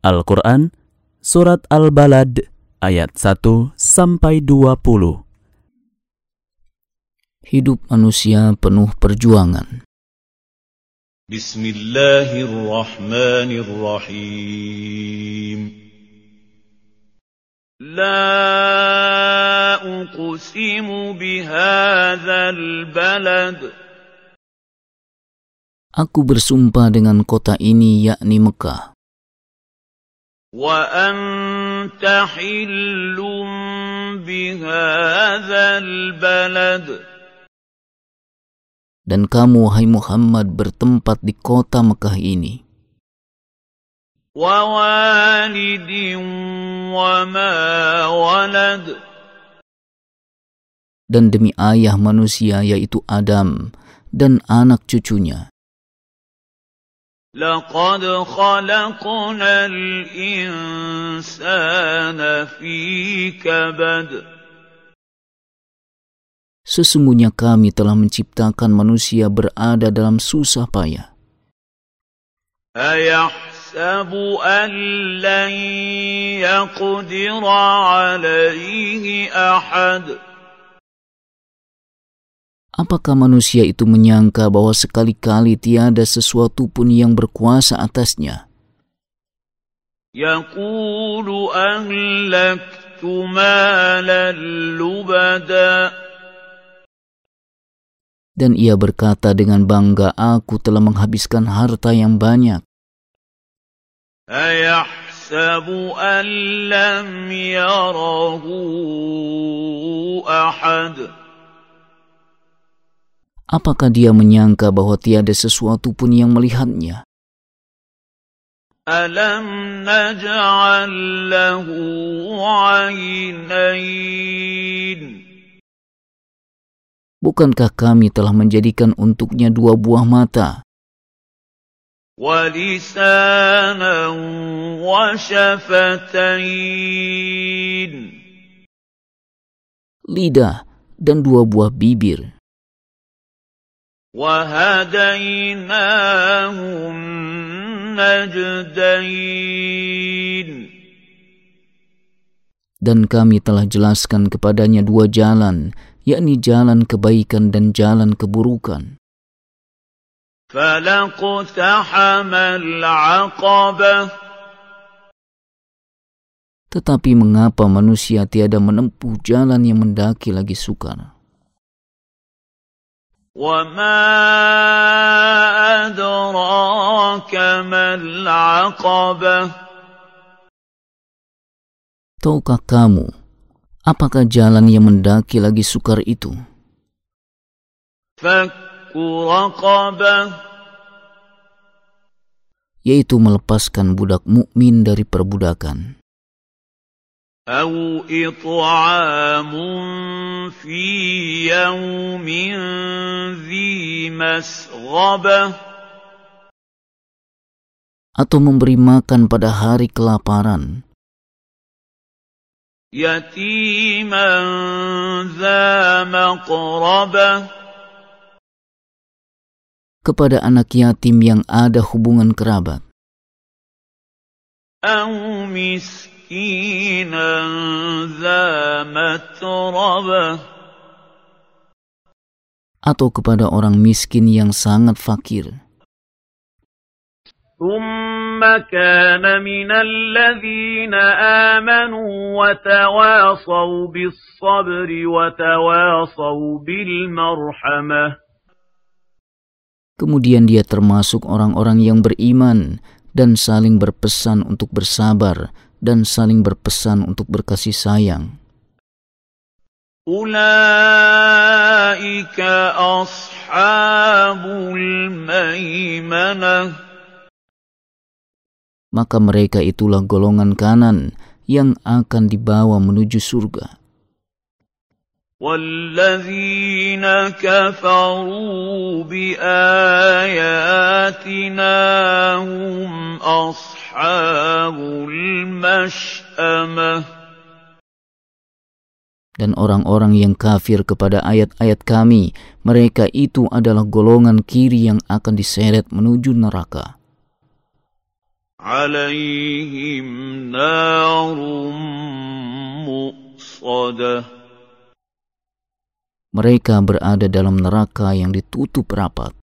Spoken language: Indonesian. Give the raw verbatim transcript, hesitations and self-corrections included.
Al-Quran, Surat Al-Balad, ayat satu sampai dua puluh. Hidup manusia penuh perjuangan. Bismillahirrahmanirrahim. La uqsimu bihadzal balad. Aku bersumpah dengan kota ini, yakni Mekah. Wa anta hillum bihadzal balad. Dan kamu, hai Muhammad, bertempat di kota Mekah ini. Wa walidin wa ma walad. Dan demi ayah manusia, yaitu Adam, dan anak cucunya. Laqad khalaqnal insana fi kabad. Sesungguhnya kami telah menciptakan manusia berada dalam susah payah. Ayahsabu an lan yaqdira alaihi ahad. Apakah manusia itu menyangka bahwa sekali-kali tiada sesuatu pun yang berkuasa atasnya? Yaqulu ahlaktu malan lubada. Dan ia berkata dengan bangga, aku telah menghabiskan harta yang banyak. Ayahsabu an lam yarahu ahad. Apakah dia menyangka bahwa tiada sesuatu pun yang melihatnya? Alam naj'al lahu 'aynayn. Bukankah kami telah menjadikan untuknya dua buah mata? Wa lisanan wa syafatayn. Lidah dan dua buah bibir. وَهَدَيْنَاهُ النَّجْدَيْنِ. Dan kami telah jelaskan kepadanya dua jalan, yakni jalan kebaikan dan jalan keburukan. فَلَقْتَحَمَ الْعَقَبَةَ. Tetapi mengapa manusia tiada menempuh jalan yang mendaki lagi sukar? وَمَا أَدْرَاكَ مَا الْعَقَبَةُ. Tahukah kamu, apakah jalan yang mendaki lagi sukar itu? فَكُّ رَقَبَةٍ. Yaitu melepaskan budak mukmin dari perbudakan. أَوْ إِطْعَامٌ فِي يَوْمٍ ذِي مَسْغَبَةٍ. Atau memberi makan pada hari kelaparan. يَتِيمًا ذَا مَقْرَبَةٍ. Kepada anak yatim yang ada hubungan kerabat. أَوْ مِسْكِينًا ذَا مَتْرَبَةٍ. Atau kepada orang miskin yang sangat fakir. ثُمَّ كَانَ مِنَ الَّذِينَ آمَنُوا وَتَوَاصَوْا بِالصَّبْرِ وَتَوَاصَوْا بِالْمَرْحَمَةِ. Kemudian dia termasuk orang-orang yang beriman dan saling berpesan untuk bersabar dan saling berpesan untuk berkasih sayang. Ulaika ashabul maimanah. Maka mereka itulah golongan kanan yang akan dibawa menuju surga. وَالَّذِينَ كَفَرُوا بِآيَاتِنَا هُمْ أَصْحَابُ الْمَشْأَمَةِ. Dan orang-orang yang kafir kepada ayat-ayat kami, mereka itu adalah golongan kiri yang akan diseret menuju neraka. عليهم نار مؤصدة. Mereka berada dalam neraka yang ditutup rapat.